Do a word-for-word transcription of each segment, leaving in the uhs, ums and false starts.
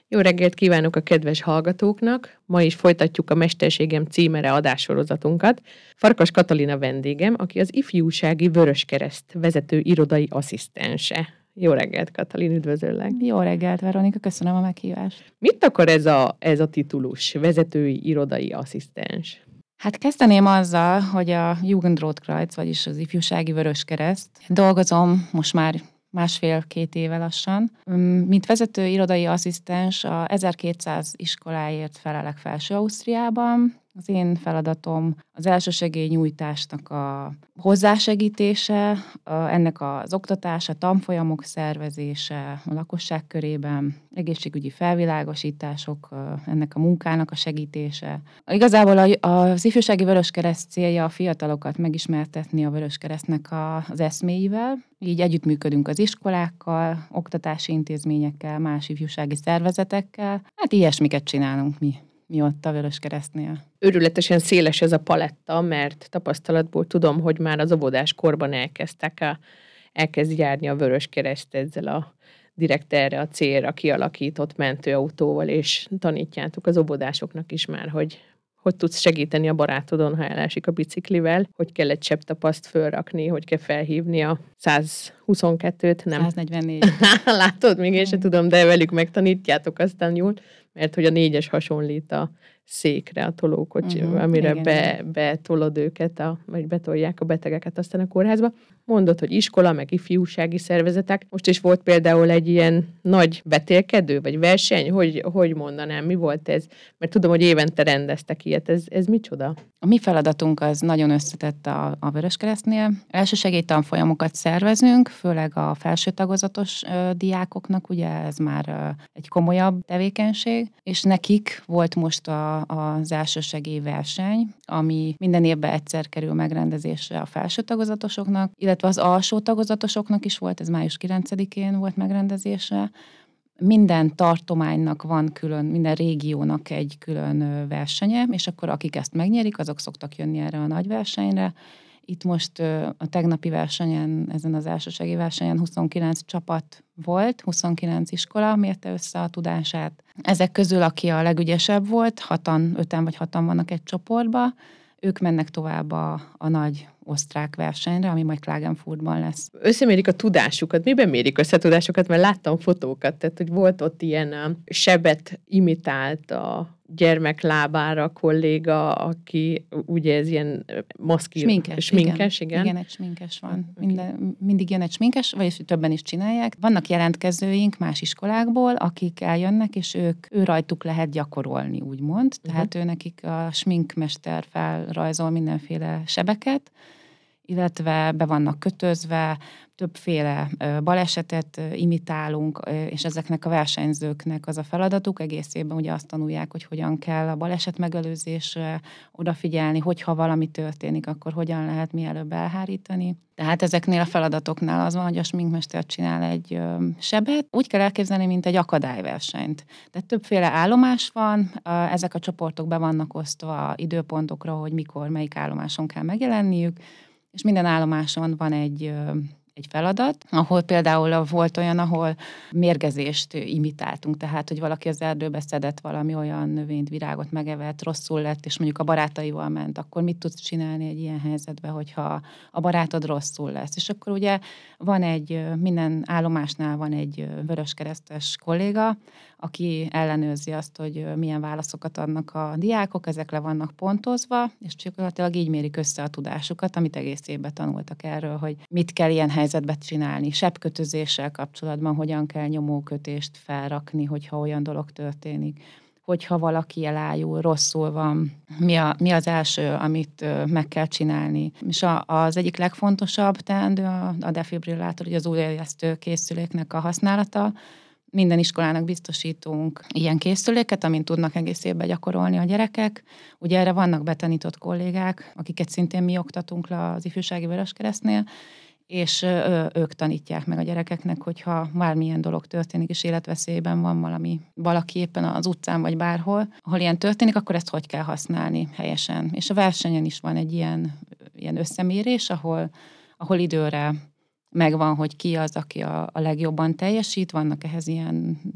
Jó reggelt kívánok a kedves hallgatóknak! Ma is folytatjuk a Mesterségem címere adássorozatunkat. Farkas Katalina vendégem, aki az Ifjúsági Vöröskereszt vezető irodai asszisztense. Jó reggelt, Katalin, üdvözöllek! Jó reggelt, Veronika, köszönöm a meghívást. Mit akar ez a, ez a titulus, vezetői irodai asszisztens? Hát kezdeném azzal, hogy a Jugendrotkreuz, vagyis az Ifjúsági Vöröskereszt dolgozom most már másfél-két éve lassan. Mint vezető irodai asszisztens a ezerkétszáz iskoláért felelek Felső-Ausztriában. Az én feladatom az elsősegélynyújtásnak a hozzásegítése, ennek az oktatása, tanfolyamok szervezése a lakosság körében, egészségügyi felvilágosítások, ennek a munkának a segítése. Igazából az Ifjúsági Vöröskereszt célja a fiatalokat megismertetni a Vöröskeresztnek az eszméivel. Így együttműködünk az iskolákkal, oktatási intézményekkel, más ifjúsági szervezetekkel. Hát ilyesmiket csinálunk mi. mi ott a Vöröskeresztnél. Őrületesen széles ez a paletta, mert tapasztalatból tudom, hogy már az óvodás korban elkezdtek a, elkezd járni a Vöröskereszt ezzel a direkt erre a célra kialakított mentőautóval, és tanítjátok az óvodásoknak is már, hogy hogy tudsz segíteni a barátodon, ha elesik a biciklivel, hogy kell egy csepp tapaszt fölrakni, hogy kell felhívni a száz huszonkettőt, nem? száz negyvennégy. Látod, még én sem tudom, de velük megtanítjátok aztán jól, mert hogy a négyes hasonlít a székre, a tolókocsi, uh-huh, amire igen, be, betolod őket, a, vagy betolják a betegeket aztán a kórházba. Mondod, hogy iskola, meg ifjúsági szervezetek. Most is volt például egy ilyen nagy betélkedő, vagy verseny, hogy, hogy mondanám, mi volt ez? Mert tudom, hogy évente rendeztek ilyet. Ez, ez micsoda? A mi feladatunk az nagyon összetett a, a Vöröskeresztnél. Elsősegélytanfolyamokat szervezünk, főleg a felső tagozatos ö, diákoknak, ugye ez már ö, egy komolyabb tevékenység, és nekik volt most a az elsősegély verseny, ami minden évben egyszer kerül megrendezésre a felső tagozatosoknak, illetve az alsó tagozatosoknak is volt, ez május kilencedikén volt megrendezésre. Minden tartománynak van külön, minden régiónak egy külön versenye, és akkor akik ezt megnyerik, azok szoktak jönni erre a nagy versenyre. Itt most a tegnapi versenyen, ezen az elsősegély versenyen huszonkilenc csapat volt, huszonkilenc iskola mérte össze a tudását. Ezek közül, aki a legügyesebb volt, hatan, öten vagy hatan vannak egy csoportba, ők mennek tovább a, a nagy osztrák versenyre, ami majd Klagenfurtban lesz. Összemérik a tudásukat. Miben mérik össze a tudásukat? Mert láttam fotókat, tehát hogy volt ott ilyen a sebet imitált a gyermek lábára a kolléga, aki ugye ez ilyen maszkír... Sminkes, sminkes igen. igen. Igen, egy sminkes van. Minden, mindig jön egy sminkes, vagyis többen is csinálják. Vannak jelentkezőink más iskolákból, akik eljönnek, és ők, ő rajtuk lehet gyakorolni, úgymond. Tehát uh-huh. ő nekik a sminkmester felrajzol mindenféle sebeket, illetve be vannak kötözve, többféle balesetet imitálunk, és ezeknek a versenyzőknek az a feladatuk, egész évben ugye azt tanulják, hogy hogyan kell a baleset megelőzésre odafigyelni, hogyha valami történik, akkor hogyan lehet mielőbb elhárítani. Tehát ezeknél a feladatoknál az van, hogy a sminkmester csinál egy sebet, úgy kell elképzelni, mint egy akadályversenyt. Tehát többféle állomás van, ezek a csoportok be vannak osztva időpontokra, hogy mikor, melyik állomáson kell megjelenniük, és minden állomáson van egy, egy feladat, ahol például volt olyan, ahol mérgezést imitáltunk, tehát, hogy valaki az erdőbe szedett valami olyan növényt, virágot megevett, rosszul lett, és mondjuk a barátaival ment, akkor mit tudsz csinálni egy ilyen helyzetben, hogyha a barátod rosszul lesz. És akkor ugye van egy, minden állomásnál van egy vöröskeresztes kolléga, aki ellenőrzi azt, hogy milyen válaszokat adnak a diákok, ezek le vannak pontozva, és gyakorlatilag így mérik össze a tudásukat, amit egész évben tanultak erről, hogy mit kell ilyen helyzetben csinálni. Sebkötözéssel kapcsolatban hogyan kell nyomókötést felrakni, hogyha olyan dolog történik. Hogyha valaki elájul, rosszul van, mi, a, mi az első, amit meg kell csinálni. És a, az egyik legfontosabb teendő a, a defibrillátor, ugye az újraélesztő készüléknek a használata. Minden iskolának biztosítunk ilyen készüléket, amint tudnak egész évben gyakorolni a gyerekek. Ugye erre vannak betanított kollégák, akiket szintén mi oktatunk le az Ifjúsági Vöröskeresztnél, és ők tanítják meg a gyerekeknek, hogyha bármilyen dolog történik, és életveszélyben van valami, valaki éppen az utcán vagy bárhol, ahol ilyen történik, akkor ezt hogy kell használni helyesen. És a versenyen is van egy ilyen, ilyen összemérés, ahol, ahol időre megvan, hogy ki az, aki a, a legjobban teljesít, vannak ehhez ilyen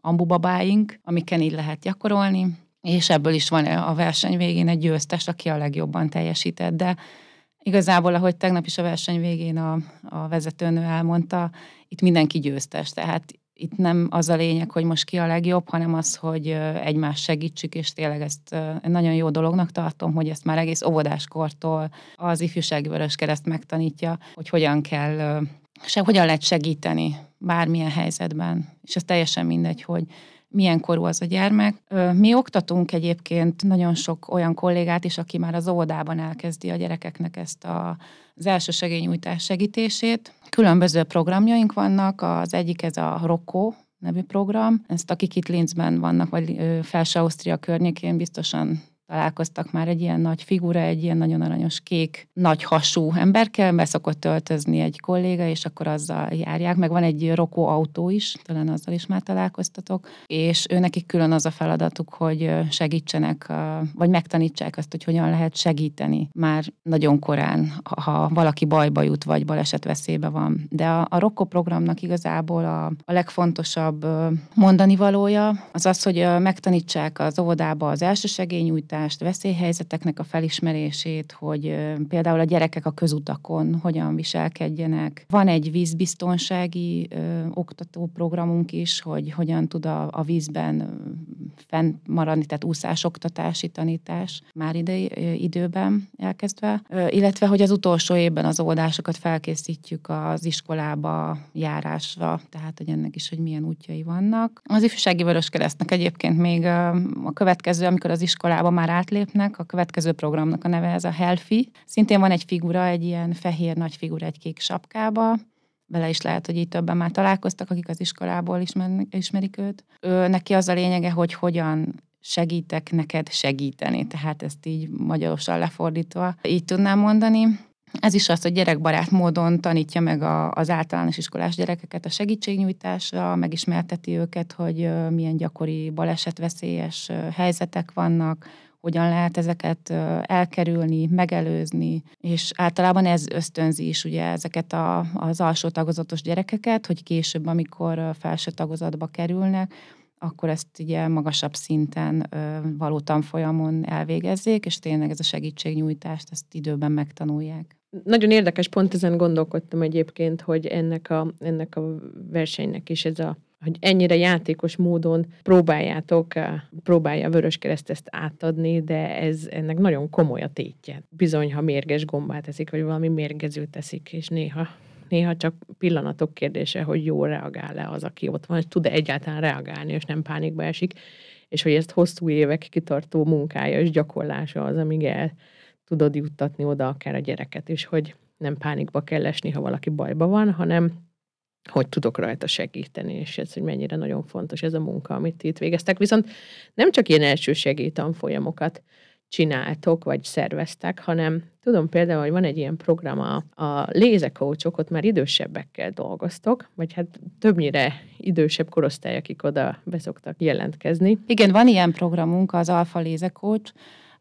ambubabáink, amiken így lehet gyakorolni, és ebből is van a verseny végén egy győztes, aki a legjobban teljesített, de igazából, ahogy tegnap is a verseny végén a, a vezetőnő elmondta, itt mindenki győztes, tehát itt nem az a lényeg, hogy most ki a legjobb, hanem az, hogy egymást segítsük, és tényleg ezt nagyon jó dolognak tartom, hogy ezt már egész óvodáskortól az Ifjúsági Vöröskereszt megtanítja, hogy hogyan kell, se, hogyan lehet segíteni bármilyen helyzetben, és ez teljesen mindegy, hogy milyen korú az a gyermek. Mi oktatunk egyébként nagyon sok olyan kollégát is, aki már az óvodában elkezdi a gyerekeknek ezt a, az elsősegélynyújtás segítését. Különböző programjaink vannak, az egyik ez a Rokko nevű program. Ezt akik itt Linzben vannak, vagy Felső-Ausztria környékén biztosan találkoztak már egy ilyen nagy figura, egy ilyen nagyon aranyos kék, nagy hasú emberkel, be szokott öltözni egy kolléga, és akkor azzal járják. Meg van egy Rokko autó is, talán azzal is már találkoztatok, és ő nekik külön az a feladatuk, hogy segítsenek, vagy megtanítsák azt, hogy hogyan lehet segíteni már nagyon korán, ha valaki bajba jut, vagy balesetveszélybe van. De a, a Rokko programnak igazából a, a legfontosabb mondani valója az az, hogy megtanítsák az óvodába az elsősegélynyújtást, veszélyhelyzeteknek a felismerését, hogy például a gyerekek a közutakon hogyan viselkedjenek. Van egy vízbiztonsági ö, oktatóprogramunk is, hogy hogyan tud a, a vízben fenn maradni, tehát úszásoktatási tanítás már ide, időben elkezdve, ö, illetve hogy az utolsó évben az óvodásokat felkészítjük az iskolába járásra, tehát hogy ennek is, hogy milyen útjai vannak. Az Ifjúsági Vöröskeresztnek egyébként még a következő, amikor az iskolába már átlépnek, a következő programnak a neve ez a Healthy. Szintén van egy figura, egy ilyen fehér nagy figura egy kék sapkába, vele is lehet, hogy így többen már találkoztak, akik az iskolából ismernek, ismerik őt. Ő, neki az a lényege, hogy hogyan segítek neked segíteni, tehát ezt így magyarosan lefordítva így tudnám mondani. Ez is az, hogy gyerekbarát módon tanítja meg a, az általános iskolás gyerekeket a segítségnyújtásra, megismerteti őket, hogy milyen gyakori balesetveszélyes helyzetek vannak, hogyan lehet ezeket elkerülni, megelőzni, és általában ez ösztönzi is ugye ezeket a, az alsó tagozatos gyerekeket, hogy később, amikor felső tagozatba kerülnek, akkor ezt ugye magasabb szinten való tanfolyamon elvégezzék, és tényleg ez a segítségnyújtást, ezt időben megtanulják. Nagyon érdekes, pont ezen gondolkodtam egyébként, hogy ennek a, ennek a versenynek is ez a, hogy ennyire játékos módon próbáljátok, próbálja a Vöröskereszt ezt átadni, de ez ennek nagyon komoly a tétje. Bizony, ha mérges gombát teszik, vagy valami mérgezőt teszik, és néha, néha csak pillanatok kérdése, hogy jól reagál-e az, aki ott van, és tud-e egyáltalán reagálni, és nem pánikba esik, és hogy ezt hosszú évek kitartó munkája és gyakorlása az, amíg el tudod juttatni oda akár a gyereket is, hogy nem pánikba kell esni, ha valaki bajba van, hanem hogy tudok rajta segíteni, és ez, hogy mennyire nagyon fontos ez a munka, amit itt végeztek. Viszont nem csak ilyen elsősegély tanfolyamokat csináltok, vagy szerveztek, hanem tudom például, hogy van egy ilyen program, a, a lézecoachok, ott már idősebbekkel dolgoztok, vagy hát többnyire idősebb korosztály, akik oda beszoktak jelentkezni. Igen, van ilyen programunk, az Alfa Lézecoach.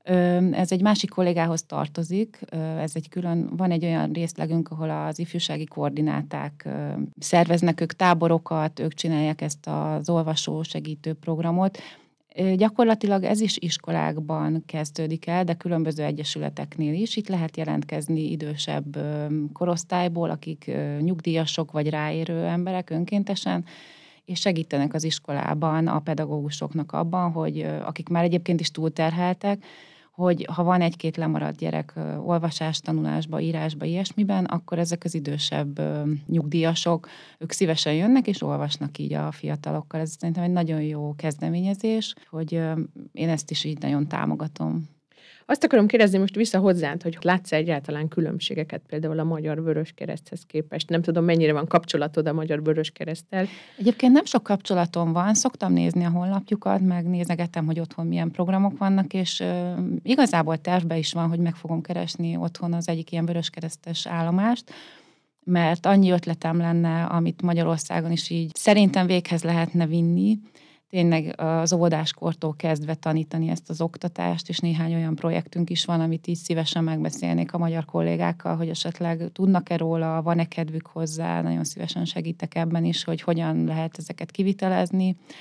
Ez egy másik kollégához tartozik, ez egy külön, van egy olyan részlegünk, ahol az ifjúsági koordináták szerveznek ők táborokat, ők csinálják ezt az olvasó segítő programot. Gyakorlatilag ez is iskolákban kezdődik el, de különböző egyesületeknél is. Itt lehet jelentkezni idősebb korosztályból, akik nyugdíjasok vagy ráérő emberek önkéntesen, és segítenek az iskolában a pedagógusoknak abban, hogy akik már egyébként is túlterheltek, hogy ha van egy-két lemaradt gyerek olvasás, tanulásba, írásba, ilyesmiben, akkor ezek az idősebb nyugdíjasok, ők szívesen jönnek és olvasnak így a fiatalokkal. Ez szerintem egy nagyon jó kezdeményezés, hogy én ezt is így nagyon támogatom. Azt akarom kérdezni most vissza hozzád, hogy látsz egyáltalán különbségeket például a Magyar Vöröskereszthez képest? Nem tudom, mennyire van kapcsolatod a Magyar Vöröskereszttel. Egyébként nem sok kapcsolatom van, szoktam nézni a honlapjukat, meg nézegetem, hogy otthon milyen programok vannak, és uh, igazából tervben is van, hogy meg fogom keresni otthon az egyik ilyen vöröskeresztes állomást, mert annyi ötletem lenne, amit Magyarországon is így szerintem véghez lehetne vinni, tényleg az óvodáskortól kezdve tanítani ezt az oktatást, és néhány olyan projektünk is van, amit így szívesen megbeszélnék a magyar kollégákkal, hogy esetleg tudnak-e róla, van-e kedvük hozzá, nagyon szívesen segítek ebben is, hogy hogyan lehet ezeket kivitelezni.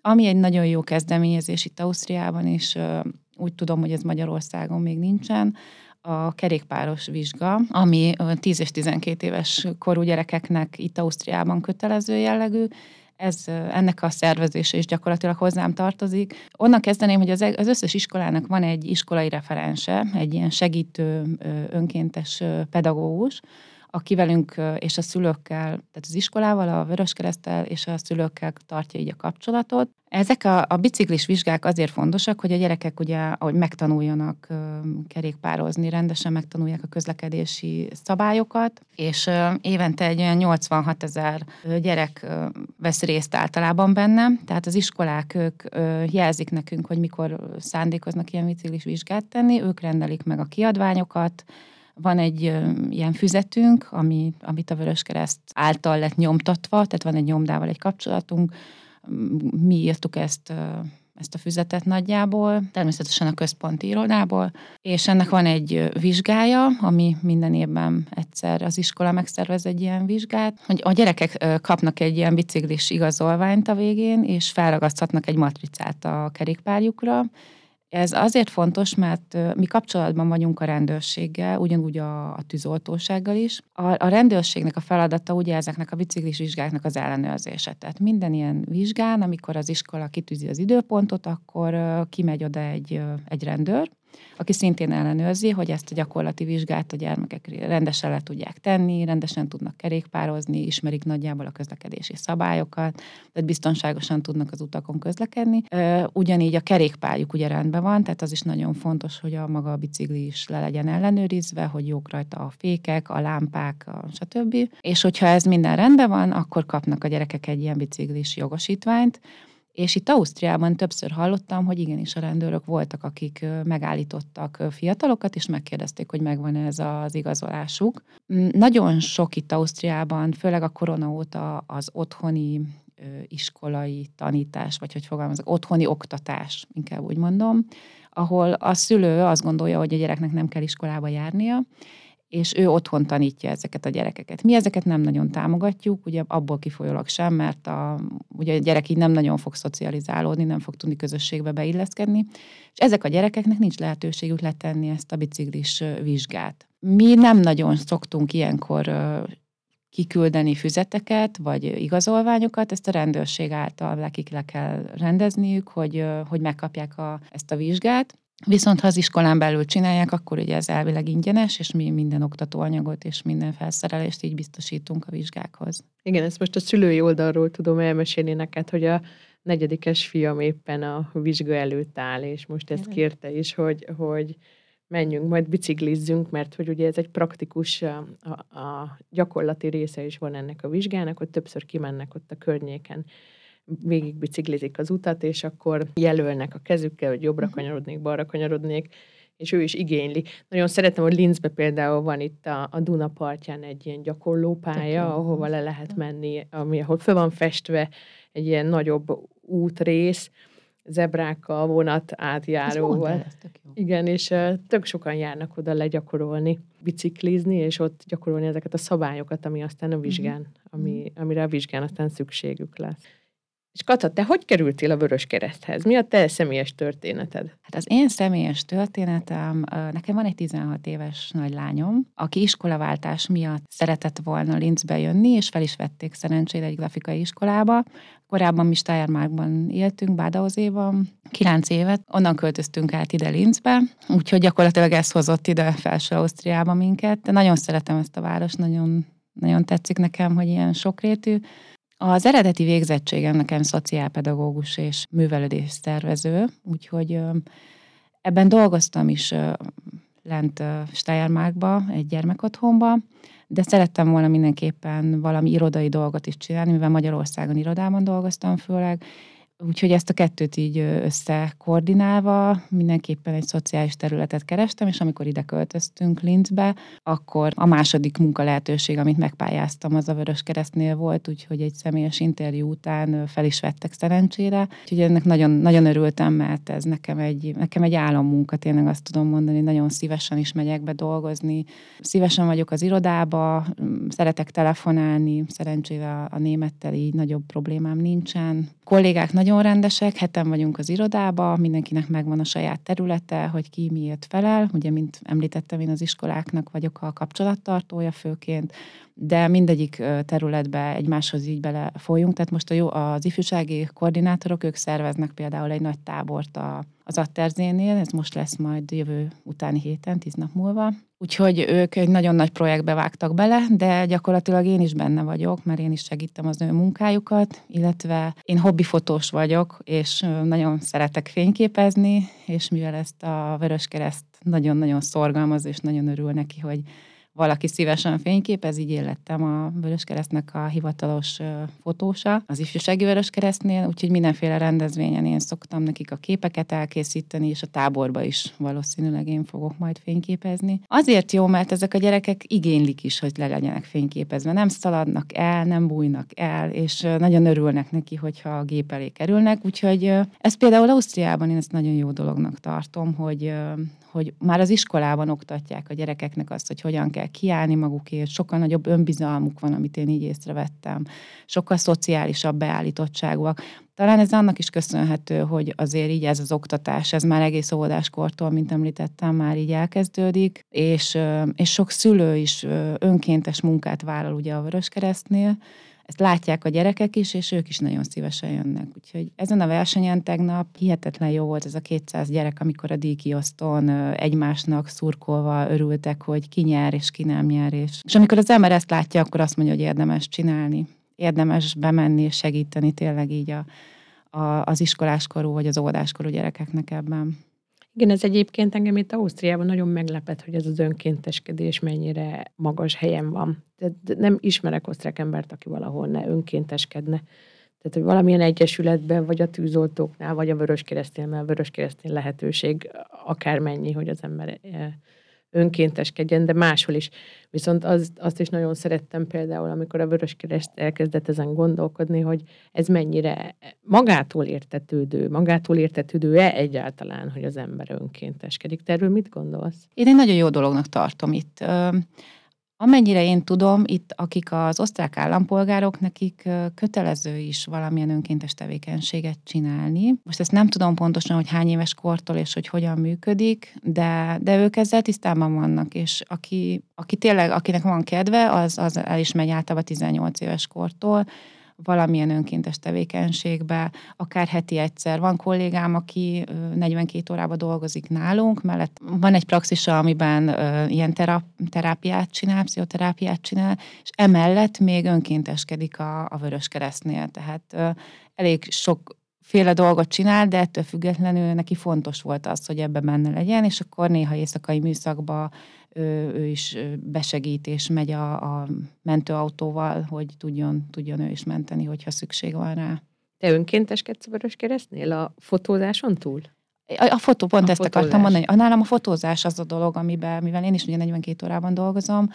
Ami egy nagyon jó kezdeményezés itt Ausztriában, és úgy tudom, hogy ez Magyarországon még nincsen, a kerékpáros vizsga, ami tíz és tizenkét éves korú gyerekeknek itt Ausztriában kötelező jellegű. Ez, ennek a szervezése is gyakorlatilag hozzám tartozik. Onnan kezdeném, hogy az, az összes iskolának van egy iskolai referense, egy ilyen segítő, önkéntes pedagógus, aki velünk és a szülőkkel, tehát az iskolával, a Vöröskereszttel és a szülőkkel tartja így a kapcsolatot. Ezek a, a biciklis vizsgák azért fontosak, hogy a gyerekek ugye, ahogy megtanuljanak kerékpározni, rendesen megtanulják a közlekedési szabályokat, és évente egy olyan nyolcvanhat ezer gyerek vesz részt általában benne, tehát az iskolák ők jelzik nekünk, hogy mikor szándékoznak ilyen biciklis vizsgát tenni, ők rendelik meg a kiadványokat. Van egy ö, ilyen füzetünk, ami, amit a Vöröskereszt által lett nyomtatva, tehát van egy nyomdával egy kapcsolatunk. Mi írtuk ezt, ö, ezt a füzetet nagyjából, természetesen a központi irodából, és ennek van egy vizsgája, ami minden évben egyszer az iskola megszervez egy ilyen vizsgát, hogy a gyerekek kapnak egy ilyen biciklis igazolványt a végén, és felragaszthatnak egy matricát a kerékpárjukra. Ez azért fontos, mert mi kapcsolatban vagyunk a rendőrséggel, ugyanúgy a, a tűzoltósággal is. A, a rendőrségnek a feladata ugye ezeknek a biciklis vizsgáknak az ellenőrzése. Tehát minden ilyen vizsgán, amikor az iskola kitűzi az időpontot, akkor kimegy oda egy, egy rendőr, aki szintén ellenőrzi, hogy ezt a gyakorlati vizsgát a gyermekek rendesen le tudják tenni, rendesen tudnak kerékpározni, ismerik nagyjából a közlekedési szabályokat, tehát biztonságosan tudnak az utakon közlekedni. Ugyanígy a kerékpárjuk ugye rendben van, tehát az is nagyon fontos, hogy a maga a bicikli is le legyen ellenőrizve, hogy jók rajta a fékek, a lámpák, a stb. És hogyha ez minden rendben van, akkor kapnak a gyerekek egy ilyen biciklis jogosítványt. És itt Ausztriában többször hallottam, hogy igenis a rendőrök voltak, akik megállítottak fiatalokat, és megkérdezték, hogy megvan-e ez az igazolásuk. Nagyon sok itt Ausztriában, főleg a korona óta az otthoni iskolai tanítás, vagy hogy fogalmazok, otthoni oktatás, inkább úgy mondom, ahol a szülő azt gondolja, hogy a gyereknek nem kell iskolába járnia, és ő otthon tanítja ezeket a gyerekeket. Mi ezeket nem nagyon támogatjuk, ugye abból kifolyólag sem, mert a, ugye a gyerek így nem nagyon fog szocializálódni, nem fog tudni közösségbe beilleszkedni, és ezek a gyerekeknek nincs lehetőségük letenni ezt a biciklis vizsgát. Mi nem nagyon szoktunk ilyenkor kiküldeni füzeteket, vagy igazolványokat, ezt a rendőrség által nekik le kell rendezniük, hogy, hogy megkapják a, ezt a vizsgát. Viszont ha az iskolán belül csinálják, akkor ugye ez elvileg ingyenes, és mi minden oktatóanyagot és minden felszerelést így biztosítunk a vizsgákhoz. Igen, ezt most a szülői oldalról tudom elmesélni neked, hogy a negyedikes fiam éppen a vizsga előtt áll, és most ezt kérte is, hogy, hogy menjünk, majd biciklizzünk, mert hogy ugye ez egy praktikus, a, a gyakorlati része is van ennek a vizsgának, hogy többször kimennek ott a környéken, végig biciklizik az utat, és akkor jelölnek a kezükkel, hogy jobbra kanyarodnék, balra kanyarodnék, és ő is igényli. Nagyon szeretem, hogy Linzbe például van itt a, a Duna partján egy ilyen gyakorlópálya, ahova le lehet menni, ami, ahol föl van festve egy ilyen nagyobb útrész, zebrákkal, vonat átjáróval. Igen, és uh, tök sokan járnak oda legyakorolni, biciklizni, és ott gyakorolni ezeket a szabályokat, ami aztán a vizsgán, uh-huh. ami, amire a vizsgán aztán szükségük lesz. És Kata, te hogy kerültél a Vöröskereszthez? Mi a te személyes történeted? Hát az én személyes történetem, nekem van egy tizenhat éves nagylányom, aki iskolaváltás miatt szeretett volna Linzbe jönni, és fel is vették szerencsére egy grafikai iskolába. Korábban mi Steiermarkban éltünk, Badauzéban, kilenc évet, onnan költöztünk át ide Linzbe, úgyhogy gyakorlatilag ez hozott ide Felső Ausztriába minket. De nagyon szeretem ezt a várost, nagyon, nagyon tetszik nekem, hogy ilyen sokrétű. Az eredeti végzettségem nekem szociálpedagógus és művelődés szervező, úgyhogy ebben dolgoztam is lent Steiermarkba, egy gyermekotthonba, de szerettem volna mindenképpen valami irodai dolgot is csinálni, mivel Magyarországon irodában dolgoztam főleg, úgyhogy ezt a kettőt így összekoordinálva mindenképpen egy szociális területet kerestem, és amikor ide költöztünk Linzbe, akkor a második munka lehetőség, amit megpályáztam, az a Vöröskeresztnél volt, úgyhogy egy személyes interjú után fel is vettek szerencsére. Úgyhogy ennek nagyon, nagyon örültem, mert ez nekem egy, nekem egy álommunka, tényleg azt tudom mondani, nagyon szívesen is megyek be dolgozni. Szívesen vagyok az irodába, szeretek telefonálni, szerencsére a némettel így nagyobb problémám nincsen. Kollégák nagyon rendesek, heten vagyunk az irodába, mindenkinek megvan a saját területe, hogy ki miért felel. Ugye, mint említettem, én az iskoláknak vagyok a kapcsolattartója főként, de mindegyik területbe egymáshoz így bele folyunk. Tehát most a jó, az ifjúsági koordinátorok, ők szerveznek például egy nagy tábort a, az Atterzénél, ez most lesz majd jövő utáni héten, tíz nap múlva. Úgyhogy ők egy nagyon nagy projektbe vágtak bele, de gyakorlatilag én is benne vagyok, mert én is segítem az ő munkájukat, illetve én hobbifotós vagyok, és nagyon szeretek fényképezni, és mivel ezt a Vöröskereszt nagyon-nagyon szorgalmaz, és nagyon örül neki, hogy valaki szívesen fényképez, így én lettem a Vöröskeresztnek a hivatalos fotósa az ifjúsági Vöröskeresztnél, úgyhogy mindenféle rendezvényen én szoktam nekik a képeket elkészíteni, és a táborba is valószínűleg én fogok majd fényképezni. Azért jó, mert ezek a gyerekek igénylik is, hogy le legyenek fényképezve. Nem szaladnak el, nem bújnak el, és nagyon örülnek neki, hogyha a gép elé kerülnek, úgyhogy ez például Ausztriában én ezt nagyon jó dolognak tartom, hogy hogy már az iskolában oktatják a gyerekeknek azt, hogy hogyan kell kiállni magukért, sokkal nagyobb önbizalmuk van, amit én így észrevettem, sokkal szociálisabb beállítottságúak. Talán ez annak is köszönhető, hogy azért így ez az oktatás, ez már egész óvodáskortól, mint említettem, már így elkezdődik, és, és sok szülő is önkéntes munkát vállal ugye a Vöröskeresztnél. Ezt látják a gyerekek is, és ők is nagyon szívesen jönnek. Úgyhogy ezen a versenyen tegnap hihetetlen jó volt ez a kétszáz gyerek, amikor a díjkiosztón egymásnak szurkolva örültek, hogy ki nyer és ki nem nyer. És, és amikor az ember ezt látja, akkor azt mondja, hogy érdemes csinálni. Érdemes bemenni és segíteni tényleg így a, a, az iskoláskorú vagy az óvodáskorú gyerekeknek ebben. Igen, ez egyébként engem itt Ausztriában nagyon meglepett, hogy ez az önkénteskedés mennyire magas helyen van. Tehát nem ismerek osztrák embert, aki valahol ne önkénteskedne. Tehát, hogy valamilyen egyesületben, vagy a tűzoltóknál, vagy a Vöröskeresztnél, mert a Vöröskeresztnél lehetőség akármennyi, hogy az ember önkénteskedjen, de máshol is. Viszont az, azt is nagyon szerettem például, amikor a Vöröskereszt elkezdett ezen gondolkodni, hogy ez mennyire magától értetődő, magától értetődő-e egyáltalán, hogy az ember önkénteskedik. Te erről mit gondolsz? Én egy nagyon jó dolognak tartom itt. Amennyire én tudom, itt akik az osztrák állampolgárok, nekik kötelező is valamilyen önkéntes tevékenységet csinálni. Most ezt nem tudom pontosan, hogy hány éves kortól és hogy hogyan működik, de, de ők ezzel tisztában vannak, és aki, aki tényleg, akinek van kedve, az, az el is megy általában tizennyolc éves kortól, valamilyen önkéntes tevékenységbe, akár heti egyszer. Van kollégám, aki negyvenkét órában dolgozik nálunk, mellett van egy praxisa, amiben uh, ilyen terap, terápiát csinál, pszichoterápiát csinál, és emellett még önkénteskedik a, a Vöröskeresztnél. Tehát uh, elég sok féle dolgot csinál, de ettől függetlenül neki fontos volt az, hogy ebbe benne legyen, és akkor néha éjszakai műszakba ő, ő is besegít, és megy a, a mentőautóval, hogy tudjon, tudjon ő is menteni, hogyha szükség van rá. Te önkénteskedsz a Vöröskeresztnél a fotózáson túl? A, a fotó, pont a ezt fotózás. akartam mondani. Nálam a fotózás az a dolog, amiben, mivel én is ugye negyvenkét órában dolgozom,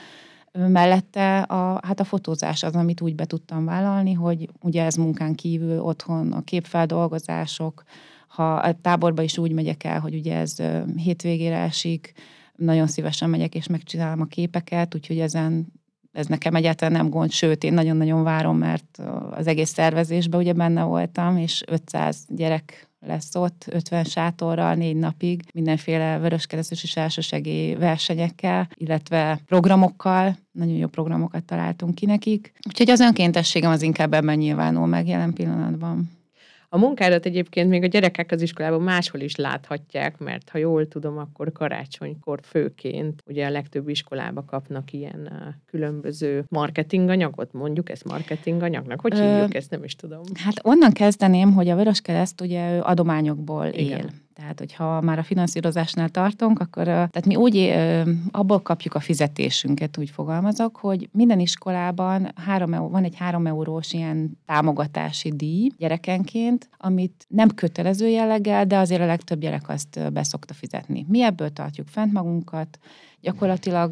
mellette a, hát a fotózás az, amit úgy be tudtam vállalni, hogy ugye ez munkán kívül otthon a képfeldolgozások, ha a táborba is úgy megyek el, hogy ugye ez hétvégére esik, nagyon szívesen megyek és megcsinálom a képeket, úgyhogy ezen ez nekem egyáltalán nem gond, sőt, én nagyon-nagyon várom, mert az egész szervezésben ugye benne voltam, és ötszáz gyerek lesz ott, ötven sátorral, négy napig, mindenféle vöröskeresztes és elsősegély versenyekkel, illetve programokkal, nagyon jó programokat találtunk ki nekik. Úgyhogy az önkéntességem az inkább ebben nyilvánul meg jelen pillanatban. A munkádat egyébként még a gyerekek az iskolában máshol is láthatják, mert ha jól tudom, akkor karácsonykor főként ugye a legtöbb iskolába kapnak ilyen különböző marketinganyagot, mondjuk ezt marketinganyagnak. Hogy hívjuk Ö, ezt, nem is tudom. Hát onnan kezdeném, hogy a Vöröskereszt ugye ő adományokból Igen. él. Tehát, hogyha már a finanszírozásnál tartunk, akkor tehát mi úgy abból kapjuk a fizetésünket, úgy fogalmazok, hogy minden iskolában három, van egy három eurós ilyen támogatási díj gyerekenként, amit nem kötelező jelleggel, de azért a legtöbb gyerek azt be szokta fizetni. Mi ebből tartjuk fent magunkat, gyakorlatilag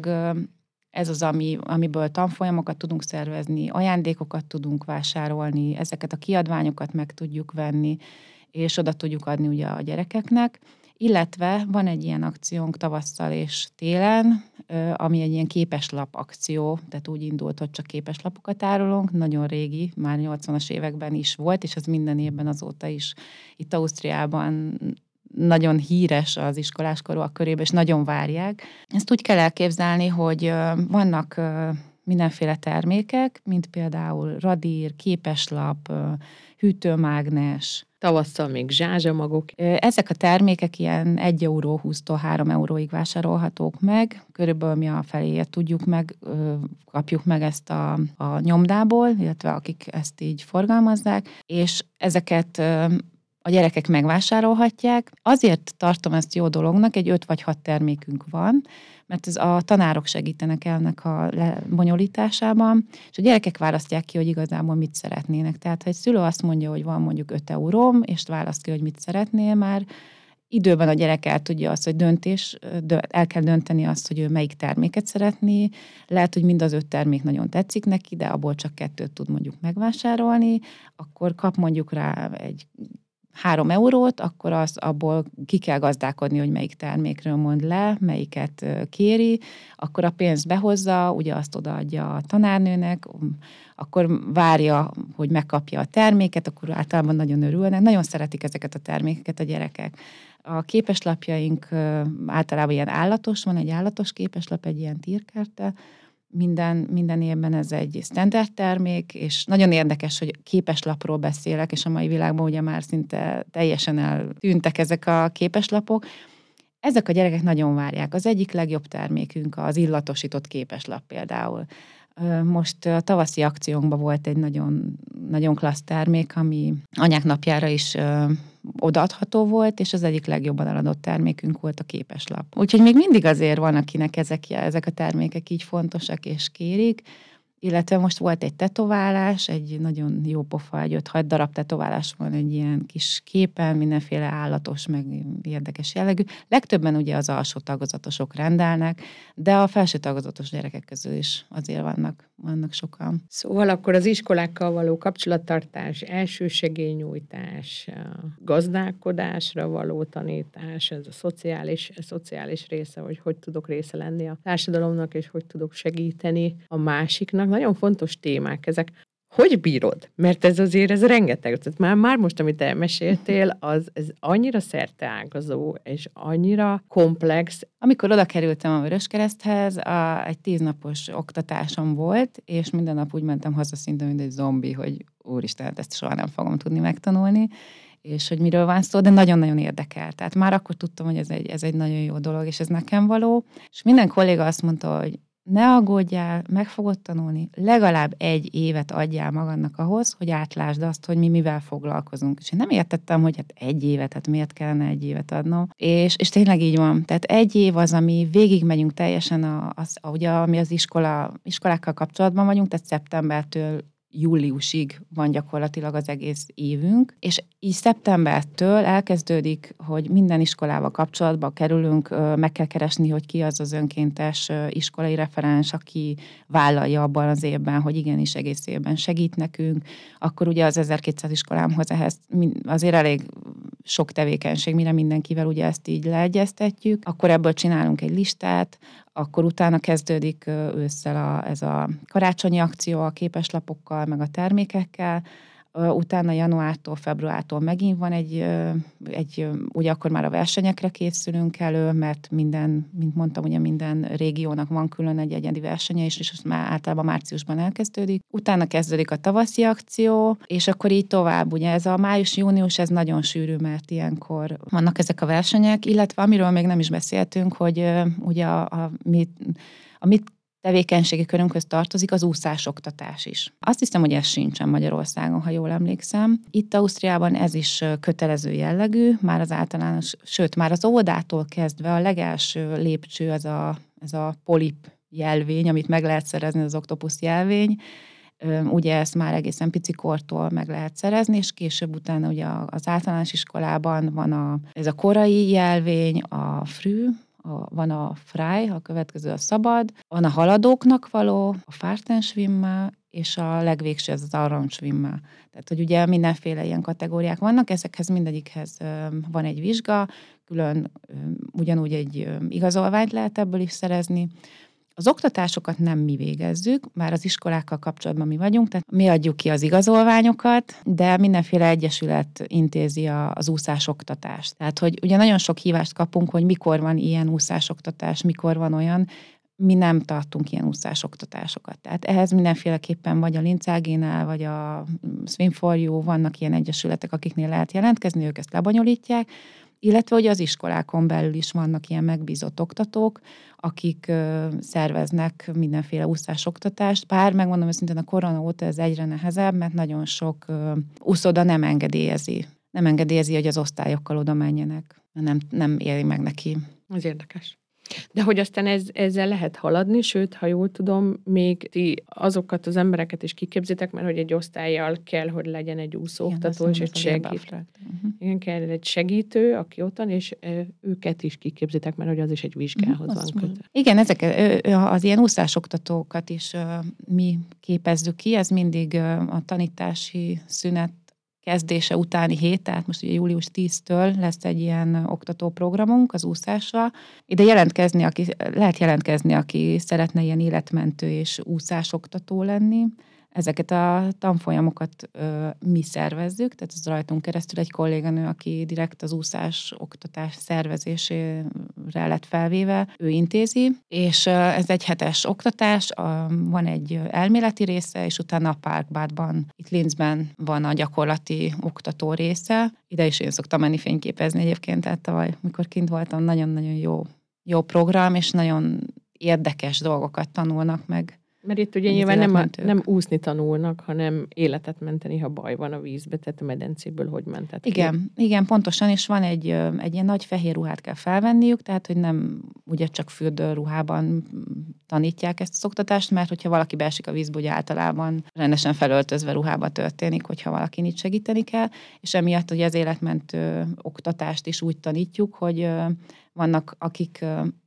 ez az, ami, amiből tanfolyamokat tudunk szervezni, ajándékokat tudunk vásárolni, ezeket a kiadványokat meg tudjuk venni, és oda tudjuk adni ugye a gyerekeknek, illetve van egy ilyen akciónk tavasszal és télen, ami egy ilyen képeslap akció, tehát úgy indult, hogy csak képeslapokat árulunk, nagyon régi, már nyolcvanas években is volt, és ez minden évben azóta is itt Ausztriában nagyon híres az iskoláskorúak körében, és nagyon várják. Ezt úgy kell elképzelni, hogy vannak mindenféle termékek, mint például radír, képeslap, hűtőmágnes. Tavasszal még zsázsamagok. Ezek a termékek ilyen egy euró húsztól három euróig vásárolhatók meg. Körülbelül mi a feléjét tudjuk meg, kapjuk meg ezt a, a nyomdából, illetve akik ezt így forgalmazzák, és ezeket a gyerekek megvásárolhatják. Azért tartom ezt jó dolognak, egy öt vagy hat termékünk van, mert ez a tanárok segítenek ennek a lebonyolításában, és a gyerekek választják ki, hogy igazából mit szeretnének. Tehát, ha egy szülő azt mondja, hogy van mondjuk öt euróm, és választ ki, hogy mit szeretnél, már időben a gyerek el tudja azt, hogy döntés, el kell dönteni azt, hogy ő melyik terméket szeretné. Lehet, hogy mind az öt termék nagyon tetszik neki, de abból csak kettőt tud mondjuk megvásárolni, akkor kap mondjuk rá egy három eurót, akkor az abból ki kell gazdálkodni, hogy melyik termékről mond le, melyiket kéri, akkor a pénzt behozza, ugye azt odaadja a tanárnőnek, akkor várja, hogy megkapja a terméket, akkor általában nagyon örülnek. Nagyon szeretik ezeket a termékeket a gyerekek. A képeslapjaink általában ilyen állatos, van egy állatos képeslap, egy ilyen tírkártya. Minden, minden évben ez egy standard termék, és nagyon érdekes, hogy képeslapról beszélek, és a mai világban ugye már szinte teljesen eltűntek ezek a képeslapok. Ezek a gyerekek nagyon várják. Az egyik legjobb termékünk az illatosított képeslap például. Most a tavaszi akciónkban volt egy nagyon, nagyon klassz termék, ami anyák napjára is odaadható volt, és az egyik legjobban eladott termékünk volt a képeslap. Úgyhogy még mindig azért van, akinek ezek, ezek a termékek így fontosak és kérik, illetve most volt egy tetoválás, egy nagyon jó pofa, egy öt-hat darab tetoválás van egy ilyen kis képen, mindenféle állatos, meg érdekes jellegű. Legtöbben ugye az alsó tagozatosok rendelnek, de a felső tagozatos gyerekek közül is azért vannak, vannak sokan. Szóval akkor az iskolákkal való kapcsolattartás, elsősegélynyújtás, gazdálkodásra való tanítás, ez a szociális, a szociális része, hogy hogy tudok része lenni a társadalomnak, és hogy tudok segíteni a másiknak. Nagyon fontos témák ezek. Hogy bírod? Mert ez azért, ez rengeteg. Tehát már, már most, amit elmeséltél, az ez annyira szerteágazó, és annyira komplex. Amikor oda kerültem a Vöröskereszthez, a, egy tíznapos oktatásom volt, és minden nap úgy mentem haza szinte, mint egy zombi, hogy úristen, ezt soha nem fogom tudni megtanulni, és hogy miről van szó, de nagyon-nagyon érdekel. Tehát már akkor tudtam, hogy ez egy, ez egy nagyon jó dolog, és ez nekem való. És minden kolléga azt mondta, hogy ne aggódjál, meg fogod tanulni, legalább egy évet adjál magadnak ahhoz, hogy átlásd azt, hogy mi mivel foglalkozunk. És én nem értettem, hogy hát egy évet, hát miért kellene egy évet adnom. És, és tényleg így van. Tehát egy év az, ami végigmegyünk teljesen, a, az, ugye, ami az iskola, iskolákkal kapcsolatban vagyunk, tehát szeptembertől júliusig van gyakorlatilag az egész évünk, és így szeptembertől elkezdődik, hogy minden iskolával kapcsolatba kerülünk, meg kell keresni, hogy ki az az önkéntes iskolai referens, aki vállalja abban az évben, hogy igenis egész évben segít nekünk, akkor ugye az ezerkétszáz iskolámhoz ehhez azért elég sok tevékenység, mire mindenkivel ugye ezt így leegyeztetjük, akkor ebből csinálunk egy listát, akkor utána kezdődik ősszel a, ez a karácsonyi akció a képeslapokkal, meg a termékekkel, utána januártól, februártól megint van egy, egy, ugye akkor már a versenyekre készülünk elő, mert minden, mint mondtam, ugye minden régiónak van külön egy egyedi versenye is, és már általában márciusban elkezdődik. Utána kezdődik a tavaszi akció, és akkor így tovább, ugye ez a május-június, ez nagyon sűrű, mert ilyenkor vannak ezek a versenyek, illetve amiről még nem is beszéltünk, hogy ugye a, a, mit, a mit tevékenységi körünkhöz tartozik az úszásoktatás is. Azt hiszem, hogy ez sincsen Magyarországon, ha jól emlékszem. Itt Ausztriában ez is kötelező jellegű, már az általános, sőt, már az óvodától kezdve a legelső lépcső az a, ez a polip jelvény, amit meg lehet szerezni, az oktopusz jelvény. Ugye ezt már egészen picikortól meg lehet szerezni, és később utána ugye az általános iskolában van a, ez a korai jelvény, a frű, a, van a Frei, a következő a szabad, van a haladóknak való, a Fahrtenschwimmer, és a legvégső ez az Arrangeschwimmer. Tehát, hogy ugye mindenféle ilyen kategóriák vannak, ezekhez mindegyikhez van egy vizsga, külön ugyanúgy egy igazolványt lehet ebből is szerezni. Az oktatásokat nem mi végezzük, már az iskolákkal kapcsolatban mi vagyunk, tehát mi adjuk ki az igazolványokat, de mindenféle egyesület intézi a, az úszásoktatást. Tehát, hogy ugye nagyon sok hívást kapunk, hogy mikor van ilyen úszásoktatás, mikor van olyan, mi nem tartunk ilyen úszásoktatásokat. Tehát ehhez mindenféleképpen vagy a Lincágénál, vagy a Swim for You, vannak ilyen egyesületek, akiknél lehet jelentkezni, ők ezt lebonyolítják, illetve hogy az iskolákon belül is vannak ilyen megbízott oktatók, akik ö, szerveznek mindenféle úszásoktatást. Bár megmondom őszintén, a korona óta ez egyre nehezebb, mert nagyon sok ö, úszoda nem engedélyezi. Nem engedélyezi, hogy az osztályokkal oda menjenek. Nem, nem éri meg neki. Ez érdekes. De hogy aztán ez, ezzel lehet haladni, sőt, ha jól tudom, még ti azokat az embereket is kiképzitek, mert hogy egy osztályjal kell, hogy legyen egy úszóoktató, és egy segítő. Uh-huh. Igen, kell egy segítő, aki ottan, és őket is kiképzitek, mert hogy az is egy vizsgához uh-huh, van kötve. Igen, ezek az ilyen úszásoktatókat is mi képezzük ki, ez mindig a tanítási szünet kezdése utáni hét, tehát most ugye július tíztől lesz egy ilyen oktatóprogramunk az úszásra. Ide jelentkezni, aki, lehet jelentkezni, aki szeretne ilyen életmentő és úszásoktató lenni. Ezeket a tanfolyamokat ö, mi szervezzük, tehát ez rajtunk keresztül egy kolléganő, aki direkt az úszás oktatás szervezésére lett felvéve, ő intézi, és ö, ez egy hetes oktatás, a, van egy elméleti része, és utána a Parkbadban, itt Linzben van a gyakorlati oktató része. Ide is én szoktam menni fényképezni egyébként, tehát tavaly, mikor kint voltam, nagyon-nagyon jó, jó program, és nagyon érdekes dolgokat tanulnak meg. Mert itt ugye nyilván nem, a, nem úszni tanulnak, hanem életet menteni, ha baj van a vízbe, tehát a medencéből hogy mentet. Igen, igen, pontosan, és van egy, egy ilyen nagy fehér ruhát kell felvenniük, tehát hogy nem ugye csak fürdőruhában tanítják ezt az oktatást, mert hogyha valaki beesik a vízbe, ugye általában rendesen felöltözve ruhába történik, hogyha valaki itt segíteni kell, és emiatt ugye az életmentő oktatást is úgy tanítjuk, hogy vannak akik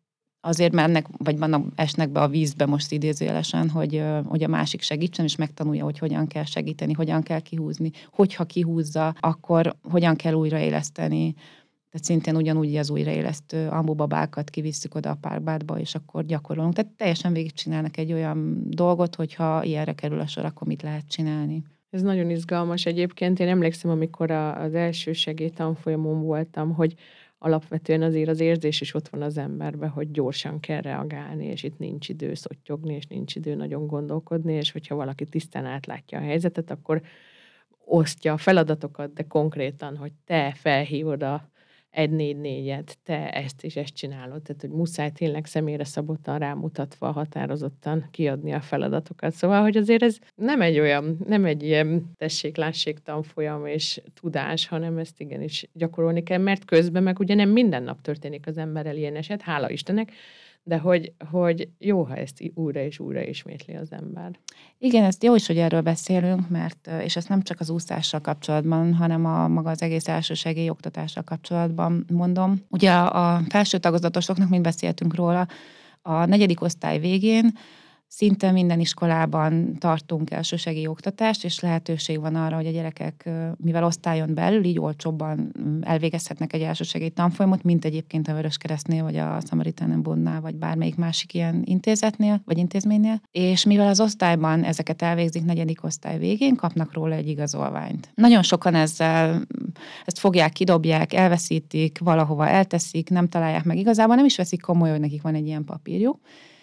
azért mennek, vagy vannak, esnek be a vízbe most idézőjelesen, hogy, hogy a másik segítsen, és megtanulja, hogy hogyan kell segíteni, hogyan kell kihúzni. Hogyha kihúzza, akkor hogyan kell újraéleszteni. Tehát szintén ugyanúgy az újraélesztő ambubabákat kivisszük oda a Parkbadba, és akkor gyakorolunk. Tehát teljesen végigcsinálnak egy olyan dolgot, hogyha ilyenre kerül a sor, akkor mit lehet csinálni. Ez nagyon izgalmas egyébként. Én emlékszem, amikor az első segélytanfolyamon voltam, hogy alapvetően azért az érzés is ott van az emberben, hogy gyorsan kell reagálni, és itt nincs idő szottyogni, és nincs idő nagyon gondolkodni, és hogyha valaki tisztán átlátja a helyzetet, akkor osztja a feladatokat, de konkrétan, hogy te felhívod a egy négy négyet, te ezt és ezt csinálod, tehát hogy muszáj tényleg személyre szabottan rámutatva, határozottan kiadni a feladatokat. Szóval, hogy azért ez nem egy olyan, nem egy ilyen tessék-lássék tanfolyam és tudás, hanem ezt igenis gyakorolni kell, mert közben meg ugye nem minden nap történik az emberrel ilyen eset, hála Istennek, de hogy, hogy jó, ha ezt újra és újra ismétli az ember. Igen, ezt jó is, hogy erről beszélünk, mert, és ezt nem csak az úszással kapcsolatban, hanem a maga az egész elsősegély oktatással kapcsolatban mondom. Ugye a felső tagozatosoknak, mind beszéltünk róla, a negyedik osztály végén szinte minden iskolában tartunk elsősegély oktatást, és lehetőség van arra, hogy a gyerekek, mivel osztályon belül, így olcsóbban elvégezhetnek egy elsősegély tanfolyamot, mint egyébként a Vöröskeresztnél, vagy a Samaritanen-Bundnál, vagy bármelyik másik ilyen intézetnél, vagy intézménynél. És mivel az osztályban ezeket elvégzik negyedik osztály végén, kapnak róla egy igazolványt. Nagyon sokan ezzel ezt fogják, kidobják, elveszítik, valahova elteszik, nem találják meg igazából, nem is veszik komolyan, hogy nekik van egy ilyen papírjuk.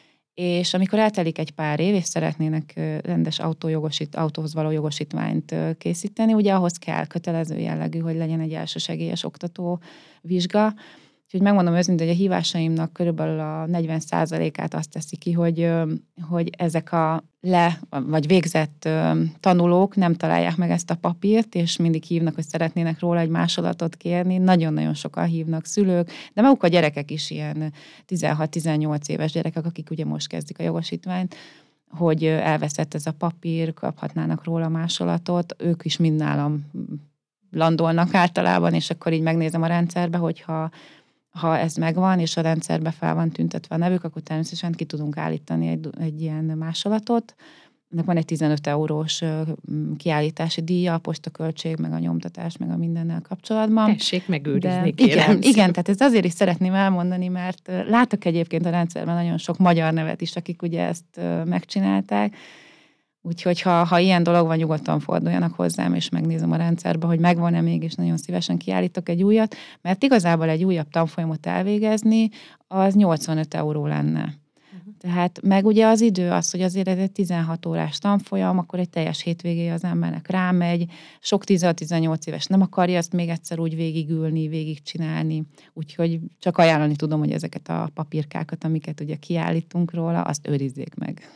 És amikor eltelik egy pár év, és szeretnének rendes autójogosít, autóhoz való jogosítványt készíteni, ugye ahhoz kell kötelező jellegű, hogy legyen egy elsősegélyes oktató vizsga. Úgyhogy megmondom őszintén, hogy a hívásaimnak körülbelül a negyven százalékát azt teszi ki, hogy, hogy ezek a le, vagy végzett tanulók nem találják meg ezt a papírt, és mindig hívnak, hogy szeretnének róla egy másolatot kérni. Nagyon-nagyon sokan hívnak szülők, de maguk a gyerekek is ilyen tizenhat-tizennyolc éves gyerekek, akik ugye most kezdik a jogosítványt, hogy elveszett ez a papír, kaphatnának róla másolatot. Ők is mind nálam landolnak általában, és akkor így megnézem a rendszerbe, hogyha Ha ez megvan, és a rendszerbe fel van tüntetve a nevük, akkor természetesen ki tudunk állítani egy, egy ilyen másolatot. Ennek van egy tizenöt eurós kiállítási díja, a postaköltség, meg a nyomtatás, meg a mindennel kapcsolatban. Tessék megőrizni, De kérem. Igen, igen, tehát ezt azért is szeretném elmondani, mert látok egyébként a rendszerben nagyon sok magyar nevet is, akik ugye ezt megcsinálták. Úgyhogy ha, ha ilyen dolog van, nyugodtan forduljanak hozzám, és megnézem a rendszerbe, hogy megvan-e még, és nagyon szívesen kiállítok egy újat, mert igazából egy újabb tanfolyamot elvégezni, az nyolcvanöt euró lenne. Uh-huh. Tehát meg ugye az idő az, hogy azért ez egy tizenhat órás tanfolyam, akkor egy teljes hétvégéje az embernek rámegy, sok tizenhat-tizennyolc éves nem akarja ezt még egyszer úgy végigülni, végigcsinálni, úgyhogy csak ajánlani tudom, hogy ezeket a papírkákat, amiket ugye kiállítunk róla, azt őrizzék meg.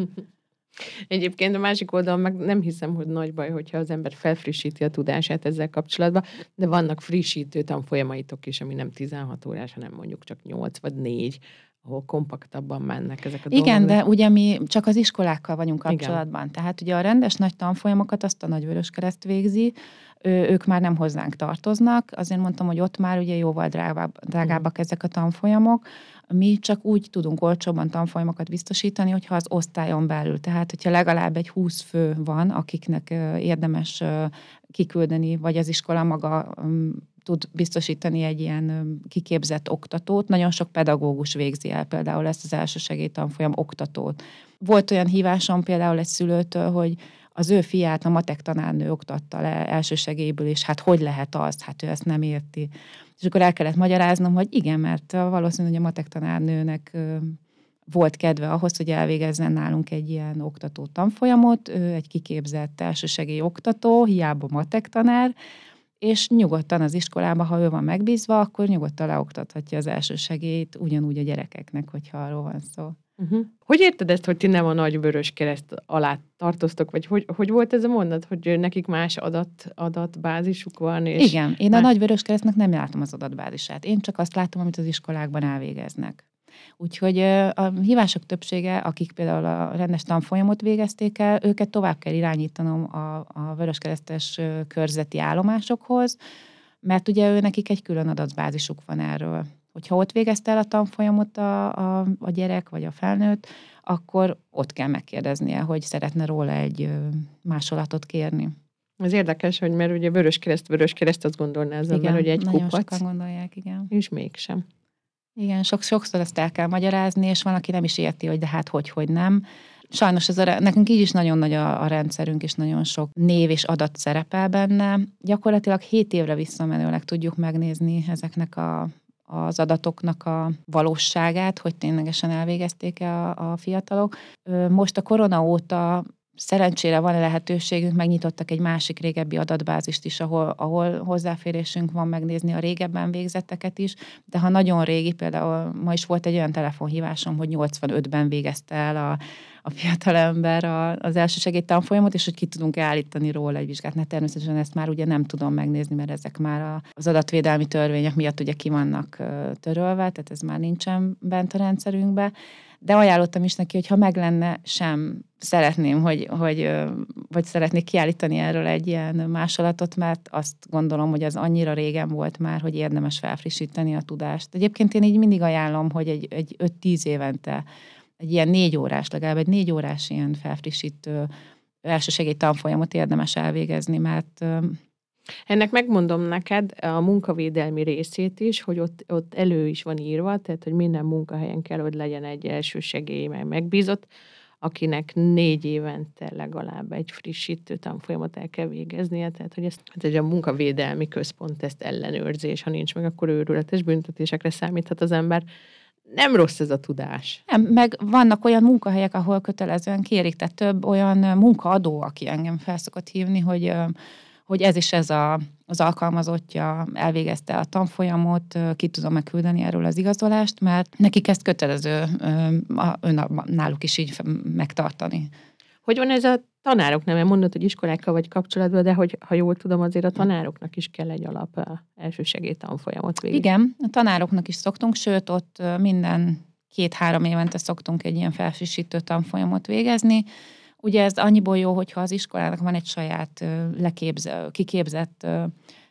Egyébként a másik oldalon meg nem hiszem, hogy nagy baj, hogyha az ember felfrissíti a tudását ezzel kapcsolatban, de vannak frissítő tanfolyamaitok is, ami nem tizenhat órás, hanem mondjuk csak nyolc vagy négy, ahol kompaktabban mennek ezek a dolgok. Igen, de ugye mi csak az iskolákkal vagyunk kapcsolatban. Igen. Tehát ugye a rendes nagy tanfolyamokat azt a Nagyvöröskereszt végzi, ő, ők már nem hozzánk tartoznak, azért mondtam, hogy ott már ugye jóval drágább, drágábbak uh-huh. ezek a tanfolyamok. Mi csak úgy tudunk olcsóbban tanfolyamokat biztosítani, hogyha az osztályon belül, tehát hogyha legalább egy húsz fő van, akiknek érdemes kiküldeni, vagy az iskola maga tud biztosítani egy ilyen kiképzett oktatót. Nagyon sok pedagógus végzi el például ezt az elsősegélytanfolyam oktatót. Volt olyan hívásom például egy szülőtől, hogy az ő fiát a matek tanárnő oktatta le elsősegélyből, és hát hogy lehet az? Hát ő ezt nem érti. És akkor el kellett magyaráznom, hogy igen, mert valószínűleg a matek tanárnőnek volt kedve ahhoz, hogy elvégezzen nálunk egy ilyen oktató tanfolyamot, ő egy kiképzett elsősegély oktató, hiába matek tanár, és nyugodtan az iskolában, ha ő van megbízva, akkor nyugodtan leoktathatja az elsősegélyt ugyanúgy a gyerekeknek, hogyha arról van szó. Uh-huh. Hogy érted ezt, hogy ti nem a Nagyvöröskereszt alá tartoztok, vagy hogy, hogy volt ez a mondat, hogy nekik más adat, adatbázisuk van? És igen, én más... a Nagyvöröskeresztnek nem látom az adatbázisát. Én csak azt látom, amit az iskolákban elvégeznek. Úgyhogy a hívások többsége, akik például a rendes tanfolyamot végezték el, őket tovább kell irányítanom a, a vöröskeresztes körzeti állomásokhoz, mert ugye ő nekik egy külön adatbázisuk van erről. Hogyha ott végezte el a tanfolyamot a, a, a gyerek vagy a felnőtt, akkor ott kell megkérdeznie, hogy szeretne róla egy másolatot kérni. Ez érdekes, hogy mert ugye Vöröskereszt, Vöröskereszt azt gondolná az ember, hogy egy nagyon kupac. Sokan gondolják, igen. És mégsem. Igen, sok, sokszor ezt el kell magyarázni, és van, aki nem is érti, hogy de hát hogy, hogy nem. Sajnos ez a, nekünk így is nagyon nagy a, a rendszerünk, és nagyon sok név és adat szerepel benne. Gyakorlatilag hét évre visszamenőleg tudjuk megnézni ezeknek a, az adatoknak a valóságát, hogy ténylegesen elvégezték-e a, a fiatalok. Most a korona óta szerencsére van lehetőségünk, megnyitottak egy másik régebbi adatbázist is, ahol, ahol hozzáférésünk van megnézni a régebben végzetteket is, de ha nagyon régi, például ma is volt egy olyan telefonhívásom, hogy nyolcvanötben végezte el a, a fiatalember a, az elsősegély tanfolyamot, és hogy ki tudunk állítani róla egy vizsgát. Hát természetesen ezt már ugye nem tudom megnézni, mert ezek már a, az adatvédelmi törvények miatt ugye ki vannak törölve, tehát ez már nincsen bent a rendszerünkbe. De ajánlottam is neki, hogy ha meg lenne, sem szeretném, hogy, hogy, vagy szeretnék kiállítani erről egy ilyen másolatot, mert azt gondolom, hogy az annyira régen volt már, hogy érdemes felfrissíteni a tudást. Egyébként én így mindig ajánlom, hogy egy, egy öt-tíz évente egy ilyen négy órás, legalább egy négy órás ilyen felfrissítő elsősegély tanfolyamot érdemes elvégezni, mert... Ennek megmondom neked a munkavédelmi részét is, hogy ott, ott elő is van írva, tehát hogy minden munkahelyen kell, hogy legyen egy elsősegély meg megbízott, akinek négy évente legalább egy frissítő tanfolyamot el kell végeznie, tehát hogy ezt hát a munkavédelmi központ ezt ellenőrzi, és ha nincs meg, akkor őrületes büntetésekre számíthat az ember. Nem rossz ez a tudás. Nem, meg vannak olyan munkahelyek, ahol kötelezően kérik, tehát több olyan munkaadó, aki engem felszokott hívni, hogy hogy ez is ez a, az alkalmazottja elvégezte a tanfolyamot, ki tudom megküldeni erről az igazolást, mert nekik ezt kötelező náluk is így megtartani. Hogy van ez a tanároknál? Mert mondod, hogy iskolákkal vagy kapcsolatban, de hogy, ha jól tudom, azért a tanároknak is kell egy alap elsősegély tanfolyamot végig. Igen, a tanároknak is szoktunk, sőt ott minden két-három évente szoktunk egy ilyen felfrissítő tanfolyamot végezni. Ugye ez annyiból jó, hogyha az iskolának van egy saját leképze, kiképzett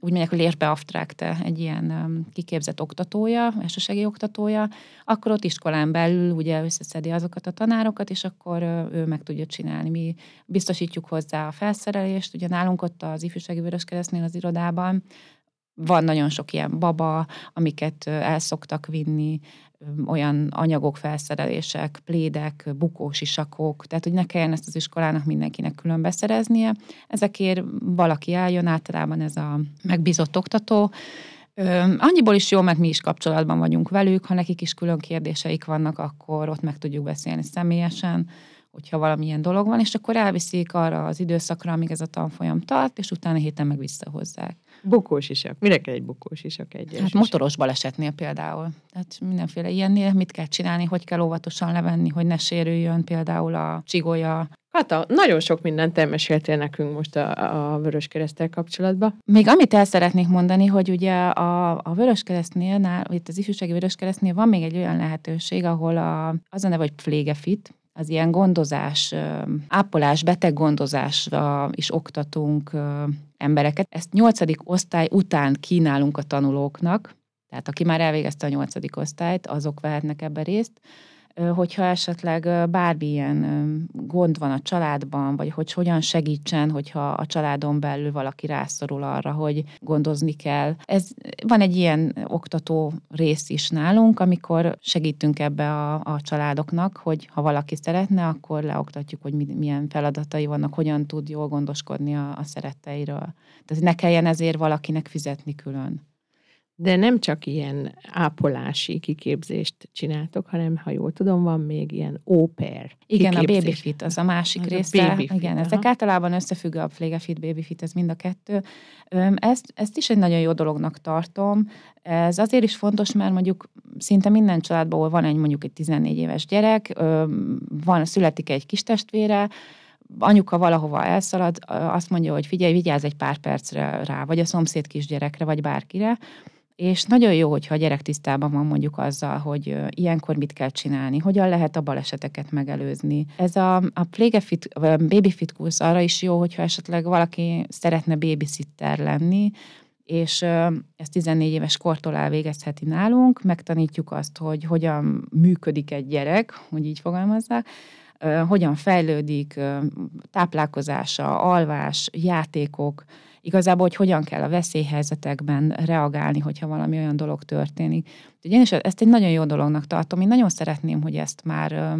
úgy mondják, hogy Lehrbeauftragte, egy ilyen kiképzett oktatója, elsősegi oktatója, akkor ott iskolán belül ugye összeszedi azokat a tanárokat, és akkor ő meg tudja csinálni. Mi biztosítjuk hozzá a felszerelést, ugye nálunk ott az Ifjúsági Vöröskeresztnél az irodában van nagyon sok ilyen baba, amiket el szoktak vinni, olyan anyagok, felszerelések, plédek, bukósisakok, tehát hogy ne kelljen ezt az iskolának mindenkinek külön beszereznie. Ezekért valaki eljön, általában ez a megbízott oktató. Annyiból is jó, mert mi is kapcsolatban vagyunk velük, ha nekik is külön kérdéseik vannak, akkor ott meg tudjuk beszélni személyesen, hogyha valamilyen dolog van, és akkor elviszik arra az időszakra, amíg ez a tanfolyam tart, és utána héten meg visszahozzák. Bukósisak. Mire kell egy bukósisak egy? Hát motoros balesetnél például. Tehát mindenféle ilyennél mit kell csinálni, hogy kell óvatosan levenni, hogy ne sérüljön például a csigolya. Kata, nagyon sok mindent elmeséltél nekünk most a, a Vöröskereszttel kapcsolatban. Még amit el szeretnék mondani, hogy ugye a, a Vöröskeresztnél, itt az Ifjúsági Vöröskeresztnél van még egy olyan lehetőség, ahol a, az a neve, hogy Pflegefit, az ilyen gondozás, ápolás, beteggondozásra is oktatunk embereket. Ezt nyolcadik osztály után kínálunk a tanulóknak, tehát aki már elvégezte a nyolcadik osztályt, azok vehetnek ebbe részt, hogyha esetleg bármilyen gond van a családban, vagy hogy hogyan segítsen, hogyha a családon belül valaki rászorul arra, hogy gondozni kell. Ez, van egy ilyen oktató rész is nálunk, amikor segítünk ebbe a, a családoknak, hogy ha valaki szeretne, akkor leoktatjuk, hogy milyen feladatai vannak, hogyan tud jól gondoskodni a, a szeretteiről. Tehát ne kelljen ezért valakinek fizetni külön. De nem csak ilyen ápolási kiképzést csináltok, hanem, ha jól tudom, van még ilyen au pair Igen, a babyfit, az a másik az része. A babyfit, igen, aha. Ezek általában összefüggő, a Pflegefit, babyfit, ez mind a kettő. Ezt, ezt is egy nagyon jó dolognak tartom. Ez azért is fontos, mert mondjuk szinte minden családban, ahol van egy mondjuk egy tizennégy éves gyerek, van, születik egy kis testvére, anyuka valahova elszalad, azt mondja, hogy figyelj, vigyázz egy pár percre rá, vagy a szomszéd kisgyerekre, vagy bárkire, és nagyon jó, hogyha a gyerek tisztában van mondjuk azzal, hogy ilyenkor mit kell csinálni, hogyan lehet a baleseteket megelőzni. Ez a, a Pflegefit, a babyfit kursz arra is jó, hogyha esetleg valaki szeretne babysitter lenni, és ezt tizennégy éves kortól elvégezheti nálunk, megtanítjuk azt, hogy hogyan működik egy gyerek, hogy így fogalmazzák, hogyan fejlődik, táplálkozása, alvás, játékok, igazából, hogy hogyan kell a veszélyhelyzetekben reagálni, hogyha valami olyan dolog történik. Úgyhogy én is ezt egy nagyon jó dolognak tartom. Én nagyon szeretném, hogy ezt már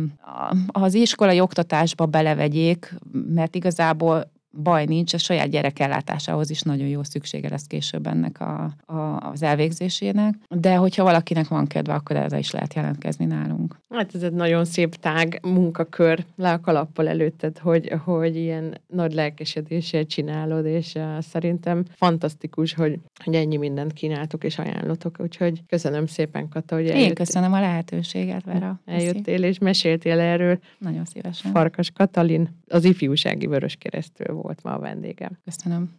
az iskolai oktatásba belevegyék, mert igazából baj nincs, a saját gyerekellátásához is nagyon jó szüksége lesz később ennek a, a, az elvégzésének. De hogyha valakinek van kedve, akkor erre is lehet jelentkezni nálunk. Hát ez egy nagyon szép tág munkakör, le a kalappal előtted, hogy, hogy ilyen nagy lelkesedéssel csinálod, és uh, szerintem fantasztikus, hogy, hogy ennyi mindent kínáltok és ajánlotok, úgyhogy köszönöm szépen, Kata, hogy eljöttél. Én köszönöm a lehetőséget, Vera. Eljöttél és meséltél erről. Nagyon szívesen. Farkas Katalin, az Ifjúsági Vöröskeresztről volt ma a vendégem. Köszönöm.